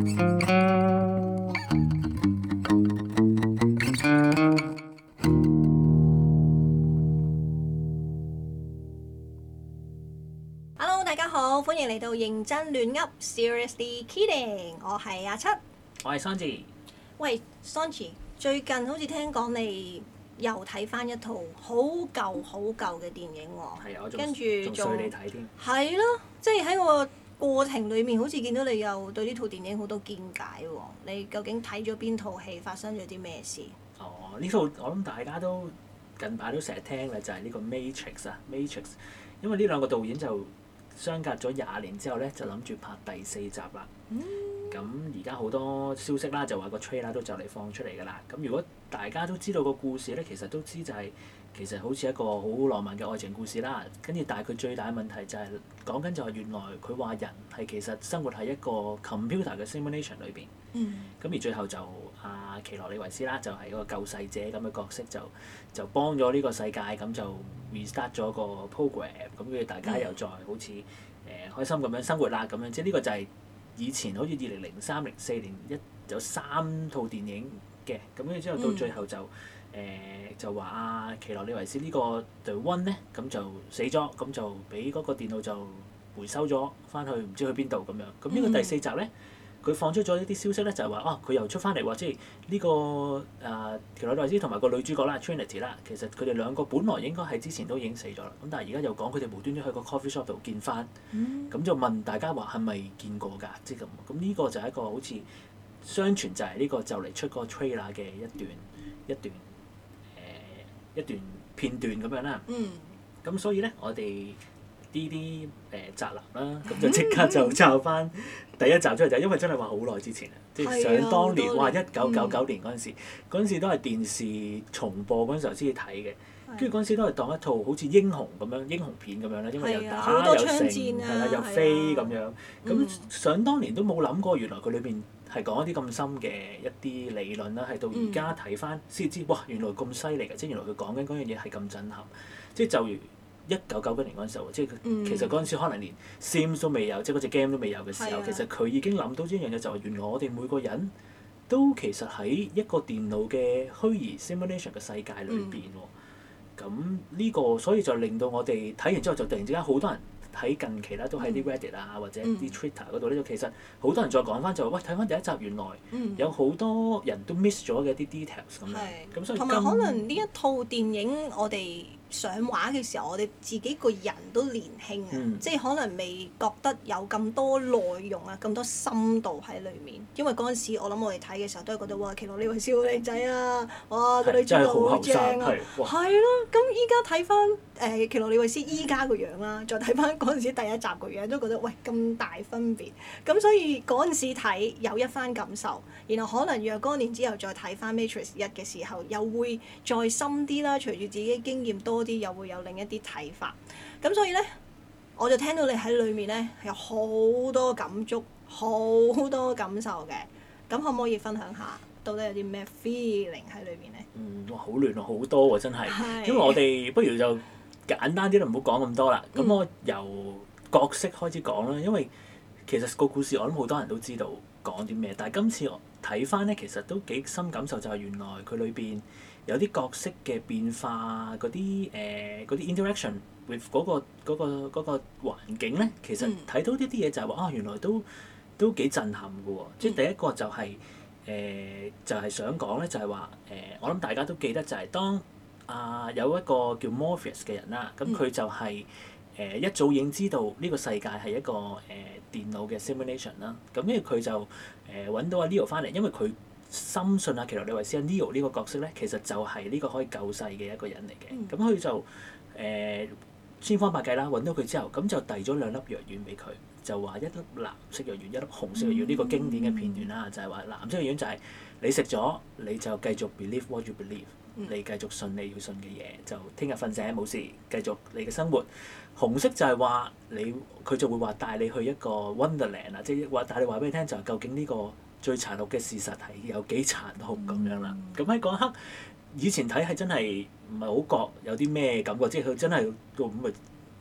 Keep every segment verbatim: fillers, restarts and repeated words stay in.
Hello，大家好，歡迎嚟到認真亂噏 Seriously Kidding，我係阿七， 我係 Songi。 喂 Songi，最近好似聽講你又睇翻一套好舊好舊嘅電影喎， 係啊，我仲跟住仲衰你睇添。 係咯，即係喺個過程裡面，好似見到你又對呢套電影好多見解喎。你究竟睇咗邊套戲，發生咗啲咩事？ 哦，呢套我諗大家都近排都成日聽嘅就係、是、呢個 Matrix 啊 ，Matrix。因為呢兩個導演就相隔咗廿年之後咧，就諗住拍第四集啦。咁而家好多消息啦，就話個 trailer 都就嚟放出嚟㗎啦。咁如果大家都知道個故事咧，其實都知就係、是、其實好似一個好浪漫嘅愛情故事啦。跟住但係佢最大嘅問題就係、是、講緊就係原來佢話人係其實生活喺一個 computer 嘅 simulation 裏邊。 嗯。咁而最後就阿、啊、奇洛李維斯啦，就係、是、一個救世者咁嘅角色，就就幫咗呢個世界，咁就 restart 咗個 program，咁跟住大家又再好似誒、呃、開心咁樣生活啦，咁樣即係呢個就係以前好似二零零三零四年一有三套電影嘅，咁跟住之後到最後就誒、呃、就話阿、啊、奇洛李維斯呢個 The One 咧，咁就死咗，咁就俾嗰個電腦就回收咗翻去，唔知去邊度咁樣。咁呢個第四集咧。佢放出咗一啲消息咧，就係話啊，佢又出翻嚟喎，即係呢、呢個誒、呃、奇洛李維斯同埋個女主角啦 Trinity 啦，其實佢哋兩個本來應該喺之前都已經死咗啦，咁但係而家又講佢哋無端端喺個 coffee shop 度見翻，咁、嗯、就問大家話係咪見過㗎？即係咁，咁呢個就係一個好似相傳就係呢個就嚟出個 trailer 嘅一段一段誒、呃、一段片段咁樣啦。咁、嗯、所以咧，我哋呢啲誒宅男啦，咁就即刻就抄翻第一集出嚟，就因為真係話好耐之前啊，即係想當年，哇！一九九九年嗰陣時，嗰陣、嗯、時都係電視重播嗰陣時候先至睇嘅，跟住嗰陣時都係當一套好似英雄咁樣英雄片咁樣咧，因為又打又勝，係啦又飛咁樣，咁、嗯、想當年都冇諗過，原來佢裏邊係講一啲咁深嘅一啲理論啦，係到而家睇翻先知，哇！原來咁犀利嘅，即係原來佢講緊嗰樣嘢係咁震撼，即係就如。一九九九年嗰陣時候，即係其實嗰陣時可能連 Sims 都未有，即係嗰隻 game 都未有嘅時候，的其實佢已經諗到呢樣嘢，就係原來我哋每個人都其實喺一個電腦嘅虛擬 simulation 嘅世界裏邊喎。咁呢、嗯、個所以就令到我哋睇完之後，就突然之間好多人喺近期啦，都喺啲 Reddit 啊、嗯、或者啲 Twitter 嗰度咧，就其實好多人再講翻就話，喂，睇翻第一集，原來有好多人都 miss 咗嘅一啲 details 咁樣。咁所以同埋可能呢一套電影我哋上畫嘅時候，我哋自己個人都年輕啊，嗯、即係可能未覺得有咁多內容啊，咁多深度喺裡面。因為嗰陣時我諗我哋睇嘅時候都係覺得哇，奇洛李維斯好靚仔啊，哇個女主角好正啊，係咯。咁依家睇翻誒奇洛李維斯依家個樣啦，再睇翻嗰陣時第一集個樣，都覺得喂咁大分別。咁所以嗰陣時睇有一番感受，然後可能若干年之後再睇翻 Matrix 一嘅時候，又會再深啲啦。隨住自己經驗多啲，又會有另一啲睇法。咁所以咧，我就聽到你喺裏面咧有好多感觸，好多感受嘅。咁可唔可以分享下，到底有啲咩 feeling 喺裏面咧？ 嗯，哇，好亂啊，好多喎，真係。是因為我哋不如就簡單啲啦，唔好講咁多啦。咁、嗯、我由角色開始講啦，因為其實個故事我諗好多人都知道講啲咩，但係今次我睇翻咧，其實都幾深感受，就係原來佢裏邊有啲角色嘅變化，嗰啲誒嗰啲 interaction with 嗰個嗰個嗰個環境咧，其實睇到呢啲嘢就係話啊，原來都都幾震撼嘅喎。即係第一個就係誒就係想講咧，就係話誒，我諗大家都記得就係當啊有一個叫 Morpheus 嘅人啦，咁佢就係誒一早已經知道呢個世界係一個誒電腦嘅 simulation 啦。咁跟住佢就誒揾到阿 Neo 翻嚟，因為佢深信阿奇洛李維斯 Neo 呢個角色咧，其實就係呢個可以救世嘅一個人嚟嘅。咁佢、嗯、就誒、呃、千方百計啦，揾到佢之後，咁就遞咗兩粒藥丸俾佢，就話一粒藍色藥丸，一粒紅色藥丸。呢、嗯、個經典嘅片段啦，就係話藍色藥丸就係你食咗，你就繼續 believe what you believe，、嗯、你繼續信你要信嘅嘢，就聽日瞓醒冇事，繼續你嘅生活。紅色就係話你，佢就會話帶你去一個 Wonderland 啊，即係話帶你話俾你聽，就係究竟呢個最殘酷嘅事實係有幾殘酷咁樣啦。咁喺嗰一刻，以前睇係真係唔係好覺有啲咩感覺，即係佢真係到咁咪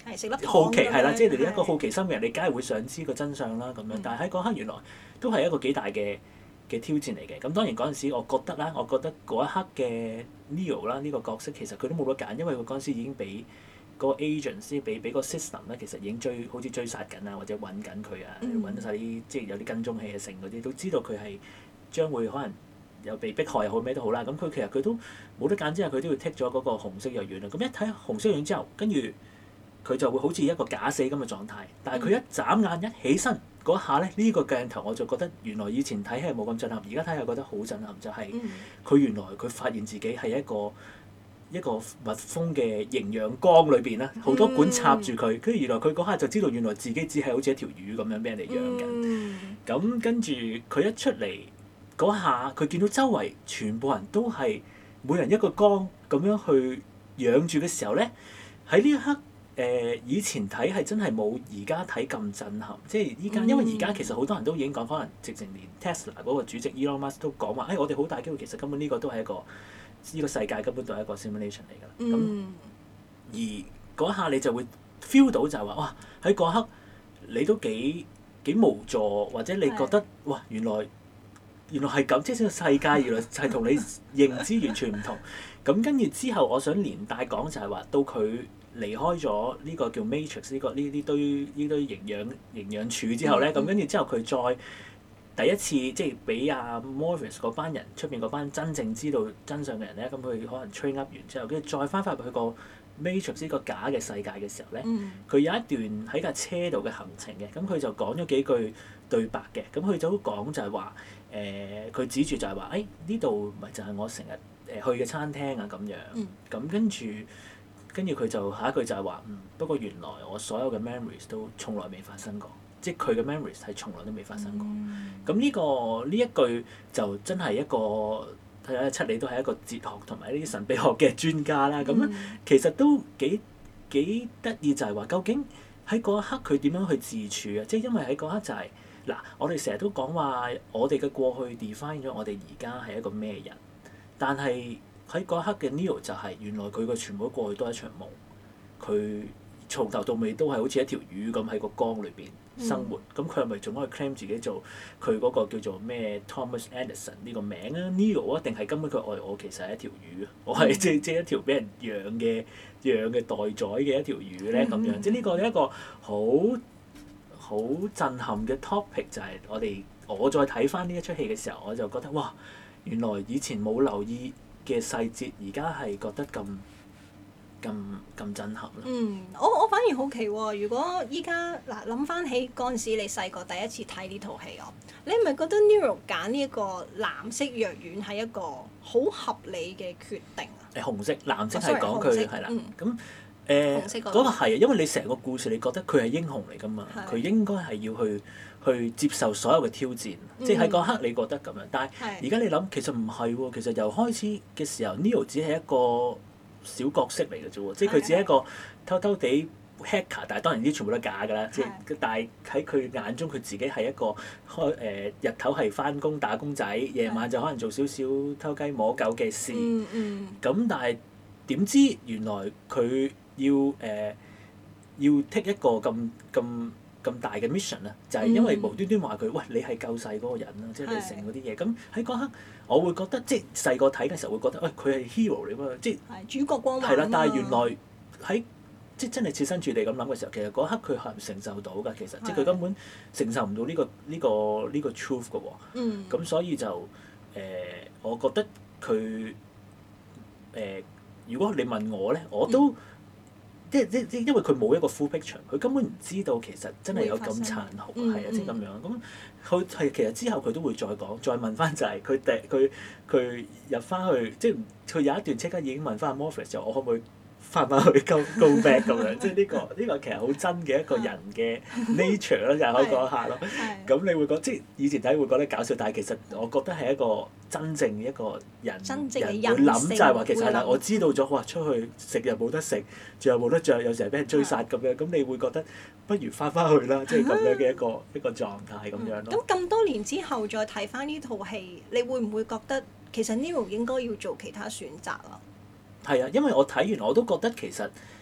係食粒糖好奇係啦， 咁樣即係你一個係好奇心嘅人，你梗係會想知個真相啦咁樣。 嗯但係喺嗰刻原來都係一個幾大嘅嘅挑戰嚟嘅。咁當然嗰陣時，我覺得啦，我覺得嗰一刻嘅 Neo 啦，呢個角色其實佢都冇得揀，因為佢嗰陣時已經俾個 agent 先俾俾個 system 咧，其實已經追好似追殺緊啊，或者揾緊佢啊，揾晒啲即係有啲跟蹤器啊，成嗰啲都知道佢係將會可能有被迫害又好咩都好啦。咁佢其實佢都冇得揀之下，佢都要剔咗嗰個紅色藥丸啦。咁一睇紅色藥丸之後，跟住佢就會好似一個假死咁嘅狀態。但係佢一眨眼一起身嗰下咧，呢個鏡頭我就覺得原來以前睇係冇咁震撼，而家睇係覺得好震撼，就係佢原來佢發現自己係一個一個密封嘅營養缸裏邊啦，好多管插住佢，跟住原來佢嗰下就知道原來自己只係好似一條魚咁樣俾人哋養緊。咁跟住佢一出嚟嗰下，佢見到周圍全部人都係每人一個缸咁樣去養住嘅時候咧，喺呢一刻誒、呃、以前睇係真係冇而家睇咁震撼，即係依家因為而家其實好多人都已經講，可能直情連 Tesla 嗰個主席 Elon Musk 都講話，誒、哎、我哋好大機會其實根本呢個都係一個。呢個世界根本都係一個 simulation 嚟㗎啦，咁、嗯、而嗰下你就會 feel 到就係話，哇喺嗰刻你都幾幾無助，或者你覺得的哇原來原來係咁，即係呢個世界原來係同你認知完全唔同。咁跟住之後，我想連帶講就係話，到佢離開咗呢個叫 Matrix 呢、這個呢呢堆呢堆營養營養柱之後咧，咁跟住之後佢再。第一次即係俾阿 Morpheus 嗰班人出邊嗰班真正知道真相嘅人咧，咁佢可能 train up 完之後，跟住再翻返入去個 Matrix 呢個假嘅世界嘅時候咧，佢、嗯、有一段喺架車度嘅行程嘅，咁佢就講咗幾句對白嘅，咁佢就講就係話誒，佢、呃、指住就係話，誒呢度咪就係我成日誒去嘅餐廳啊咁樣，咁、嗯、跟住跟住佢就下一句就係話，嗯不過原來我所有嘅 memories 都從來未發生過。即係佢嘅 memories 係從來都未發生過。咁呢、嗯呢個呢一句就真係一個睇下七里都係一個哲學同埋呢啲神秘學嘅專家啦。咁、嗯、其實都幾幾得意，就係話究竟喺嗰一刻佢點樣去自處啊？即係因為喺嗰刻就係、是、嗱，我哋成日都講話我哋嘅過去 define 咗我哋而家係一個咩人，但係喺嗰一刻嘅 Neo 就係原來佢嘅全部過去都係一場夢，佢從頭到尾都係好似一條魚咁喺個缸裏邊生活，咁佢係咪仲可以 claim 自己做佢嗰個叫做咩 Thomas Anderson 呢個名啊 Neo 啊，定係根本佢愛我其實係一條魚啊？我係即即一條俾人養嘅養嘅待宰嘅一條魚咧咁樣，嗯、即呢個係一個好好震撼嘅 topic，就係我哋我再睇翻呢一出戲嘅時候，我就覺得哇，原來以前冇留意嘅細節，而家係覺得咁。咁咁震撼咯！ 嗯，我我反而好奇喎、哦，如果依家嗱諗翻起嗰陣時，你細個第一次睇呢套戲哦，你係咪覺得 Neo 揀呢一個藍色藥丸係一個好合理嘅決定啊？ 誒紅色、藍色係講佢係啦，咁誒嗰個係啊，因為你成個故事你覺得佢係英雄嚟㗎嘛，佢的應該係要去去接受所有嘅挑戰，嗯、即係喺嗰刻你覺得咁樣，但係而家你諗其實唔係喎，其實由開始嘅時候 Neo 只係一個小角色嚟嘅啫喎，即係佢只係一個偷偷地 hacker，但係當然啲全部都係假㗎啦。即係的但係喺佢眼中，佢自己係一個開誒、呃、日頭係翻工打工仔，夜晚就可能做少少偷雞摸狗嘅事。咁、嗯嗯、但係點知原來佢要誒、呃、要 take 一個咁咁咁大嘅 mission 啊，就係、是、因為無端端話佢喂，你係救世嗰個人啦，即係你成嗰啲嘢。咁喺嗰刻。我會覺得即係細個睇嘅時候會覺得，喂佢係 hero 嚟嘛，即係主角光環。 係啦，但係原來喺即係真係設身處地咁諗嘅時候，其實嗰刻佢係唔承受到㗎。其實的即係佢根本承受唔到呢個呢、呢個呢、呢個 truth 㗎喎。嗯。咁所以就誒、呃，我覺得佢誒、呃，如果你問我咧，我都。嗯即係即即因為佢冇一個 full picture，佢根本唔知道其實真係有咁殘酷，係啊，即係咁樣。咁佢係其實之後佢都會再講，再問翻就係佢第佢佢入翻去，即係佢有一段即刻已經問翻阿 Morpheus 就我可唔可以翻返去 go go back 咁樣？即係呢個呢個其實好真嘅一個人嘅 nature 咯，就係可以講下咯。咁你會覺即係以前睇會覺得搞笑，但係其實我覺得係一個真正嘅一個人真正嘅人會諗就係話其實係啦，我知道咗哇，出去食又冇得食，著又冇得着，有時係俾人追殺咁樣，咁你會覺得不如翻返去啦，即係咁樣嘅一個一個狀態咁樣咯。 咁咁多年之後再睇翻呢套戲，你會唔會覺得其實 Neo 應該要做其他選擇啊？ 係啊，因為我睇完我都覺得其實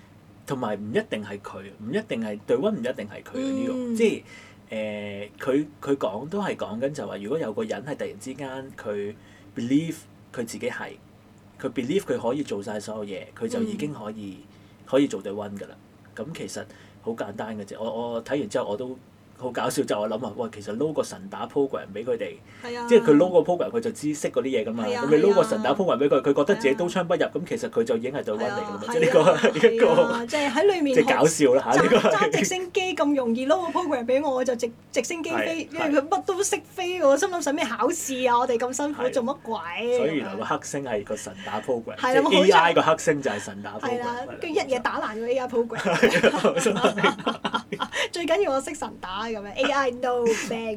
同埋唔一定係佢，唔一定係對溫，唔一定係佢呢個，即係誒佢佢講都係講緊就話，如果有個人係突然之間佢 believe 佢自己係，佢 believe 佢可以做晒所有嘢，佢就已經可以、嗯、可以做對溫㗎啦。咁其實好簡單嘅啫。我我睇完之後我都好搞笑，就我諗啊，喂，其實撈個神打 program 俾佢哋， 啊、 即係佢撈個 program 佢就知識嗰啲嘢㗎嘛。咁、啊、你撈個神打 program 俾佢，佢覺得自己刀槍不入，咁、啊、其實佢就已經係對溫嚟㗎嘛。即係呢個係一個即係喺裡面即係搞笑啦嚇。呢個揸直升機咁容易撈個 program 俾我，我就直直升機飛，因為佢乜都識飛喎。心諗使咩考試啊？我哋咁辛苦做乜鬼？ 所以原來個黑星係個神打 program， 即係 A I 個黑星就係神打 program。係啦， 跟住一嘢打爛個 A I program。最緊要我識神打咁樣 A I no bad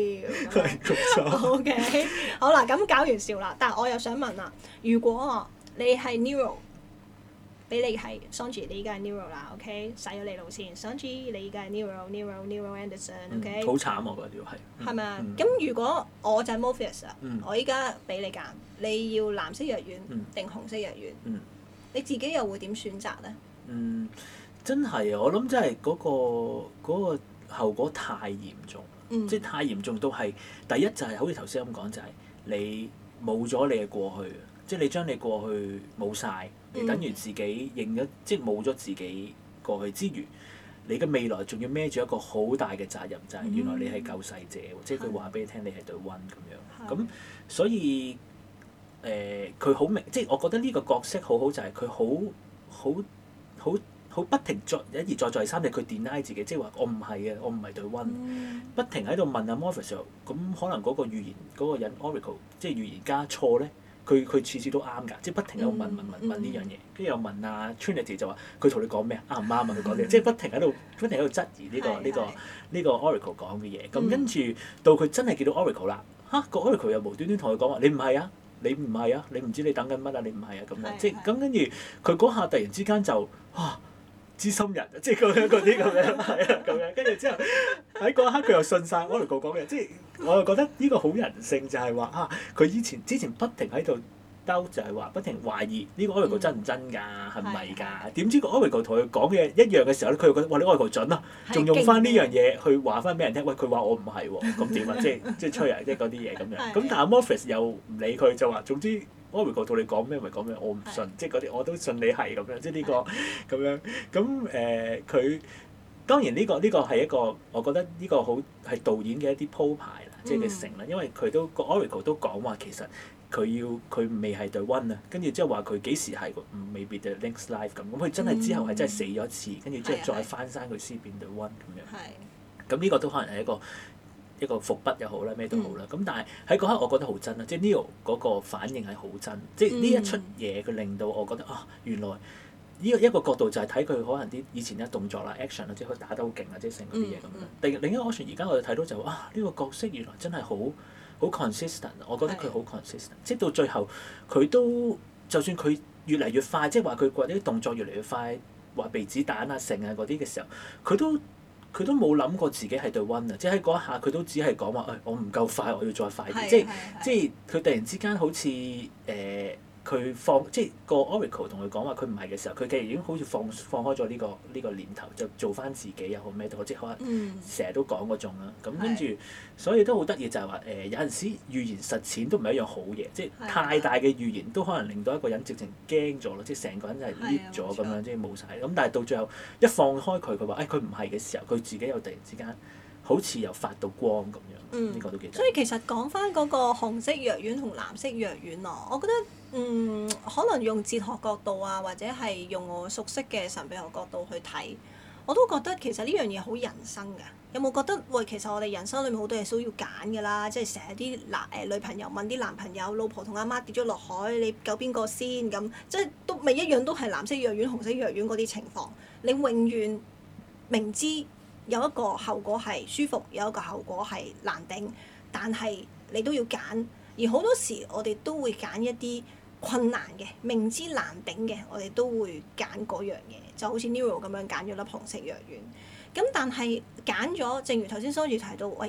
deal。O K， 好啦，咁搞完笑啦，但係我又想問啦，如果你係 Nero， 俾你係 Songi， 你而家係 Nero 啦 ，OK， 洗咗你腦先 ，Songi 你而家係 Nero，Nero Nero Anderson，OK。 好慘我覺得係。 係咪啊？咁、嗯、如果我就係 Morpheus 啊， 嗯、 我依家俾你揀，你要藍色藥丸定、嗯、紅色藥丸？嗯、你自己又會點選擇咧？ 嗯，真係啊！我諗真係嗰個嗰、嗰個後果太嚴重，嗯、即係太嚴重到係第一就係好似頭先咁講，就係、係、你冇咗你嘅過去，即係你將你過去冇晒，你等於自己認咗，即係冇咗自己過去之餘，你嘅未來仲要孭住一個好大嘅責任，就係、係、原來你係救世者，嗯、即係佢話俾你聽，你係對溫咁樣。咁、嗯、所以誒，佢、呃、好明，即係我覺得呢個角色好好，就係佢好好好。好不停再一而再再三地佢 deny 自己，即係話我唔係嘅，我唔係對溫，嗯、不停喺度問阿 Morpheus 咁可能嗰個預言嗰、嗰個人 Oracle 即係預言家錯咧，佢佢次次都啱㗎，即係不停喺度問問問問呢樣嘢，跟住又問阿 Trinity 就話佢同你講咩啊，啱唔啱啊？佢講啲，即係不停喺度不停喺度質疑呢、呢個呢、呢個呢、呢個 Oracle 講嘅嘢，咁跟住到佢真係見到 Oracle 啦，嚇、啊、個 Oracle 又無端端同佢講話你唔係啊，你唔係啊，你唔知你等緊乜啊，你唔係啊咁樣，即係咁跟住佢嗰下突然之間就哇〜知心人，即係咁樣嗰啲咁樣，係啊咁樣，跟住之後喺嗰一刻佢又信晒 Oracle 講嘅，即係我又覺得呢個好人性就係話啊，佢以前之前不停喺度兜，就係話不停懷疑呢個 Oracle 真唔真㗎，係唔係㗎？點知個 Oracle 同佢講嘅一樣嘅時候咧，佢又覺得哇，你 Oracle 準啊，仲用翻呢樣嘢去話翻俾人聽，喂，佢話我唔係喎，咁點啊？即係即係吹啊，即係嗰啲嘢咁樣。咁但係 Morpheus 又唔理佢，就話總之。Oracle 同你講咩咪講咩，我唔信，即係嗰啲我都信你係咁樣，即係呢個咁樣。咁誒佢當然呢個呢個係一個，我覺得呢個好係導演嘅一啲鋪排啦，即係嘅成啦。因為佢都個 Oracle 都講話其實佢要佢未係對溫啊，跟住之後話佢幾時係未必對 Link's Life 咁。咁佢真係之後係真係死咗一次，跟住之後再翻山佢先變對溫咁樣。咁呢個都可能係一個。一個伏筆又好啦，咩都好啦。咁、嗯、但係喺嗰刻，我覺得好真啦，即係 Neo 嗰個反應係好真。即係呢一出嘢，佢令到我覺得啊，原來呢個一個角度就係睇佢可能啲以前啲動作啦、action 啊，即係佢打得好勁啊，即係成嗰啲嘢咁樣。另另一個 option，而家我哋睇到就啊，呢、呢個角色原來真係好好 consistent。我覺得佢好 consistent，的即係到最後佢都就算佢越嚟越快，即係話佢嗰啲動作越嚟越快，話避子彈啊、成啊嗰啲嘅時候，佢都。佢都冇諗過自己係對溫啊！即係喺嗰一下，佢都只係講話誒，我唔夠快，我要再快啲。即係即係佢突然之間好似誒。呃佢放即係個 Oracle 同佢講話佢唔係嘅時候，佢其實已經好似放放開咗呢個呢個念頭，就做翻自己又好咩都好，即係可能成日都講嗰種啦。咁跟住，所以都好得意就係話誒，有陣時預言實踐都唔係一樣好嘢，即係太大嘅預言都可能令到一個人直情驚咗咯，即係成個人就係 lift 咗咁樣，即係冇晒。咁但係到最後一放開佢，佢話誒佢唔係嘅時候，佢自己又突然之間好似又發到光咁樣，呢、嗯、個都幾得意。所以其實講翻嗰個紅色藥丸同藍色藥丸咯，我覺得嗯可能用哲學角度啊，或者係用我熟悉嘅神秘學角度去睇，我都覺得其實呢樣嘢好人生㗎。有冇覺得喂，其實我哋人生裏面好多嘢都要揀㗎啦，即係成日啲男誒女朋友問啲男朋友，老婆同阿媽跌咗落海，你救邊個先咁？即係都咪一樣都係藍色藥丸、紅色藥丸嗰啲情況，你永遠明知有一個後果係舒服，有一個後果係難頂，但係你都要揀。而好多時我哋都會揀一啲困難嘅，明知難頂嘅，我哋都會揀嗰樣嘢。就好似 Nero 咁樣揀咗粒紅色藥丸。咁但係揀咗，正如頭先 Songi 提到，喂，一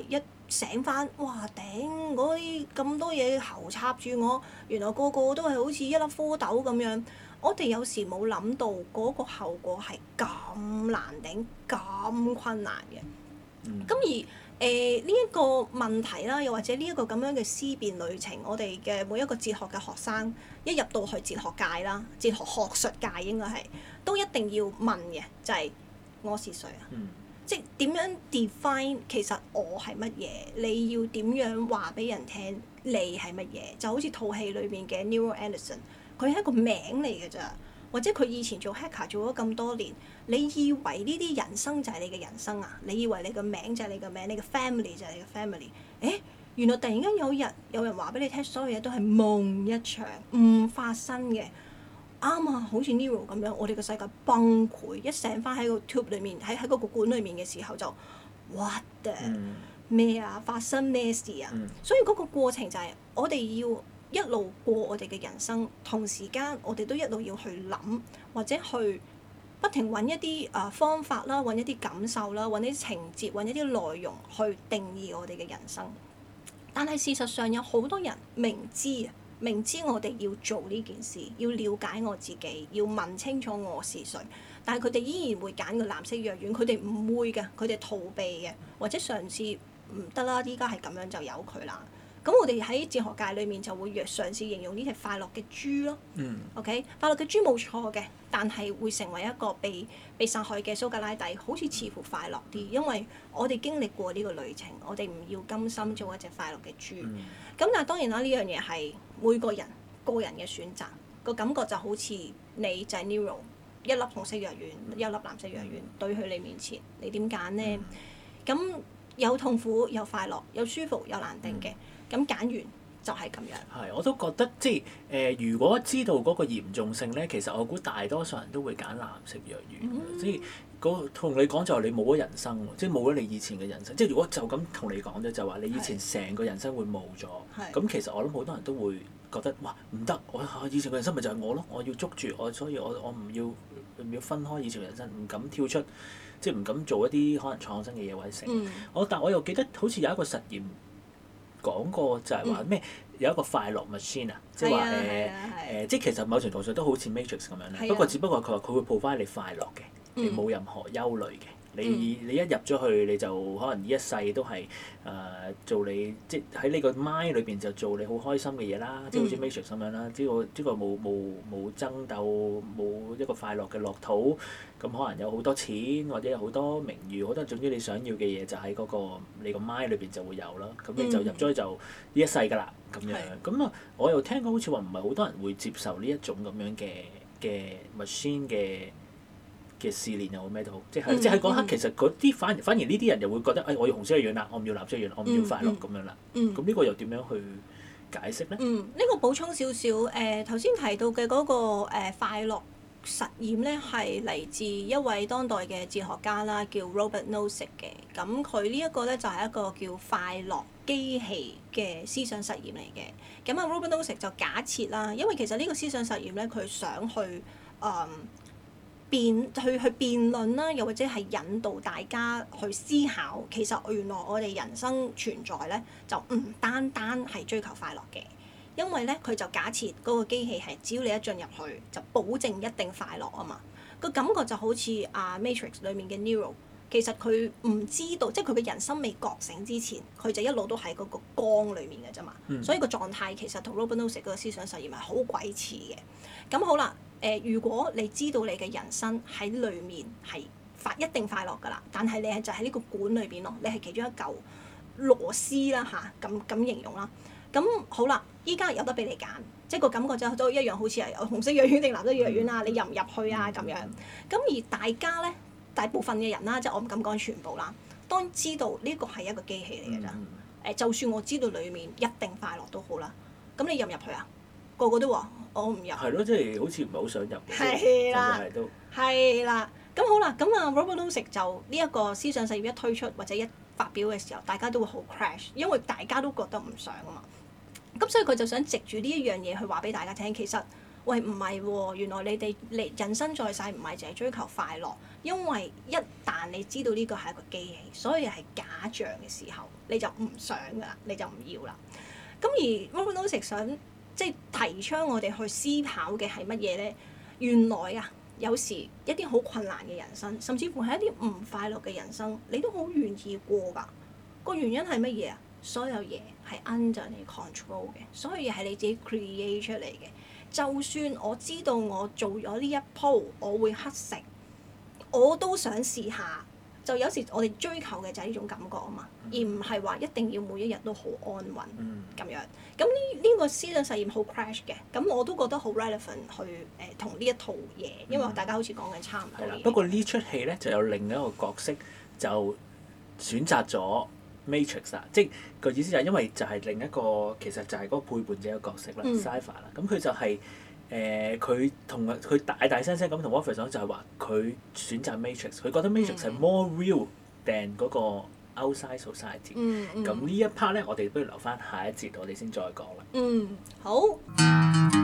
醒翻，哇頂！嗰啲咁多嘢喉插住我，原來個個都係好似一粒蝌蚪咁樣。我哋有時冇諗到嗰個後果係咁難頂、咁困難嘅。咁、嗯、而誒呢一個問題啦，又或者呢一個咁樣嘅思辨旅程，我哋嘅每一個哲學嘅學生一入到去哲學界啦，哲學學術界應該係都一定要問嘅，就係、是、我是誰啊？嗯、即係點樣 define 其實我係乜嘢？你要點樣話俾人聽你係乜嘢？就好似套戲裏面嘅 Nero Anderson。佢係一個名嚟嘅咋，或者佢以前做 hacker 做咗咁多年，你以為呢啲人生就係你嘅人生啊？你以為你個名就係你個名，你嘅 family 就係你嘅 family？誒，原來突然間有日有人話俾你聽，所有嘢都係夢一場，唔發生嘅。啱啊，好似 Nero 咁樣，我哋個世界崩潰，一醒翻喺個 tube 裏面，喺喺嗰個管裏面嘅時候就 what the 咩啊？發生咩事啊？嗯、所以嗰個過程就係我哋要一路過我哋嘅人生，同時間我哋都一路要去諗，或者去不停揾一啲啊、呃、方法啦，揾一啲感受啦，揾一啲情節，揾一啲內容去定義我哋嘅人生。但係事實上有好多人明知啊，明知我哋要做呢件事，要了解我自己，要問清楚我是誰，但係佢哋依然會揀個藍色藥丸，佢哋唔會嘅，佢哋逃避嘅，或者嘗試唔得啦，依家係咁樣就由佢啦。咁我哋喺哲學界裏面就會嘗試形容呢隻快樂嘅豬咯。嗯、OK，快樂嘅豬冇錯嘅，但係會成為一個被被殺害嘅蘇格拉底，好似似乎快樂啲，因為我哋經歷過呢個旅程，我哋唔要甘心做一隻快樂嘅豬。咁、嗯、但係當然啦，呢樣嘢係每個人個人嘅選擇，個感覺就好似你就係 Nero 一粒紅色藥丸，嗯、一粒藍色藥丸對去你面前，你點揀呢？咁、嗯、有痛苦，有快樂，有舒服，有難定嘅。嗯咁揀完就係咁樣。 係，我都覺得即係誒、呃，如果知道嗰個嚴重性咧，其實我估大多數人都會揀藍色藥丸。嗯、即係嗰同你講就係你冇咗人生喎，即係冇咗你以前嘅人生。即係如果就咁同你講啫，就話你以前成個人生會冇咗。咁是其實我諗好多人都會覺得哇唔得，我以前嘅人生咪就係我咯，我要捉住我，所以我我唔要唔要分開以前嘅人生，唔敢跳出，即係唔敢做一啲可能創新嘅嘢或者成。嗯、我但我又記得好似有一個實驗。講過就係話咩有一個快樂 machine 啊，即係話誒誒，即係其實某程度上都好似 Matrix 咁樣咧。不過只不過佢話佢會 provide你快樂嘅，你冇任何憂慮嘅。你你一入咗去你就可能呢一世都係誒、呃、做你即係喺呢個 mind 裏邊就做你好開心嘅嘢啦，即係好似 Matrix 咁樣啦。呢個呢個冇冇冇爭鬥，冇一個快樂嘅樂土。咁可能有好多錢或者有好多名譽，好多總之你想要嘅嘢就喺嗰、那個你個 mind 裏邊就會有啦。咁你就入咗去就呢一世㗎啦，咁樣。咁啊，我又聽過好似話唔係好多人會接受呢一種咁樣嘅嘅 machine 嘅嘅試煉又好咩都好，即係、嗯、即係喺嗰刻其實嗰啲反而反而呢啲人又會覺得誒、哎、我要紅色嘅樣啦，我唔要藍色嘅樣，我唔要快樂咁、嗯、樣啦。咁呢、嗯、個又點樣去解釋咧？嗯，呢、 這個補充少少誒，頭、呃、先提到嘅嗰、那個、呃、快樂實驗咧，係嚟自一位當代嘅哲學家啦，叫 Robert Nozick 嘅。咁佢呢一個咧就係、是、一個叫快樂機器嘅思想實驗嚟嘅。咁啊 Robert Nozick 就假設啦，因為其實呢個思想實驗咧，佢想去誒。嗯辯去去辯論啦，又或者係引導大家去思考，其實原來我哋人生存在咧，就唔單單係追求快樂嘅，因為咧佢就假設嗰個機器係只要你一進入去，就保證一定快樂啊嘛。個感覺就好似啊 Matrix 裡面嘅 Nero，其實佢唔知道，即係佢嘅人生未覺醒之前，佢就一路都喺嗰個光裡面嘅啫嘛。嗯、所以個狀態其實同 Robert Nozick 嗰個思想實驗係好鬼似嘅。咁好啦。誒、呃，如果你知道你嘅人生喺裏面係快一定快樂㗎啦，但係你係就喺呢個管裏邊咯，你係其中一嚿螺絲啦吓，咁、啊、咁形容啦。咁好啦，依家有得俾你揀，即係個感覺就都一樣，好似係紅色藥丸定藍色藥丸啊，你入唔入去啊咁樣。咁而大家咧，大部分嘅人啦，即係我唔敢講全部啦，當知道呢個係一個機器嚟㗎咋。誒、呃，就算我知道裡面一定快樂都好啦，咁你入唔入去啊？個個都話我唔入。係咯，即係好似唔係好想入。 係啦， 係都。 係啦，咁好啦，咁啊 Robert Nozick 就呢一個思想實驗一推出或者一發表嘅時候，大家都會好 crash，因為大家都覺得唔想啊嘛。咁所以佢就想藉住呢一樣嘢去話俾大家聽，其實喂唔係喎，原來你哋你人生在世唔係淨係追求快樂，因為一旦你知道呢個係一個機器，所以係假象嘅時候，你就唔想㗎啦，你就唔要啦。咁而 Robert Nozick 想即係提倡我哋去思考嘅係乜嘢咧？原來啊，有時一啲好困難嘅人生，甚至乎係一啲唔快樂嘅人生，你都好願意過㗎。個原因係乜嘢啊？所有嘢係 under 你 control 嘅，所有嘢係你自己 create 出嚟嘅。就算我知道我做咗呢一鋪，我會乞食，我都想試下。就有時我哋追求嘅就係呢種感覺啊嘛，而唔係話一定要每一日都好安穩咁、嗯、樣。咁呢呢個思想實驗好 crash 嘅，咁我都覺得好 relevant 去誒同呢一套嘢，因為大家好似講緊差唔多嘢。 不過呢出戲咧就有另一個角色就選擇咗 Matrix 啊，即係個意思就係因為就係另一個其實就係嗰個背叛者嘅角色啦 Cypher 啦，咁佢就係誒佢同佢大大聲聲咁同 Morpheus 講就係話佢選擇 Matrix， 佢覺得 Matrix 係 more real than 嗰個 outside society。 嗯嗯。 咁呢一 part 咧，我哋不如留翻下一節，我哋先再講啦。 嗯，好。